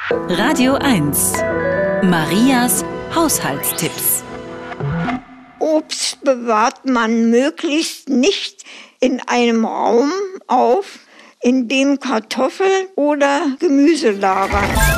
Radio 1. Marias Haushaltstipps. Obst bewahrt man möglichst nicht in einem Raum auf, in dem Kartoffeln oder Gemüse lagern.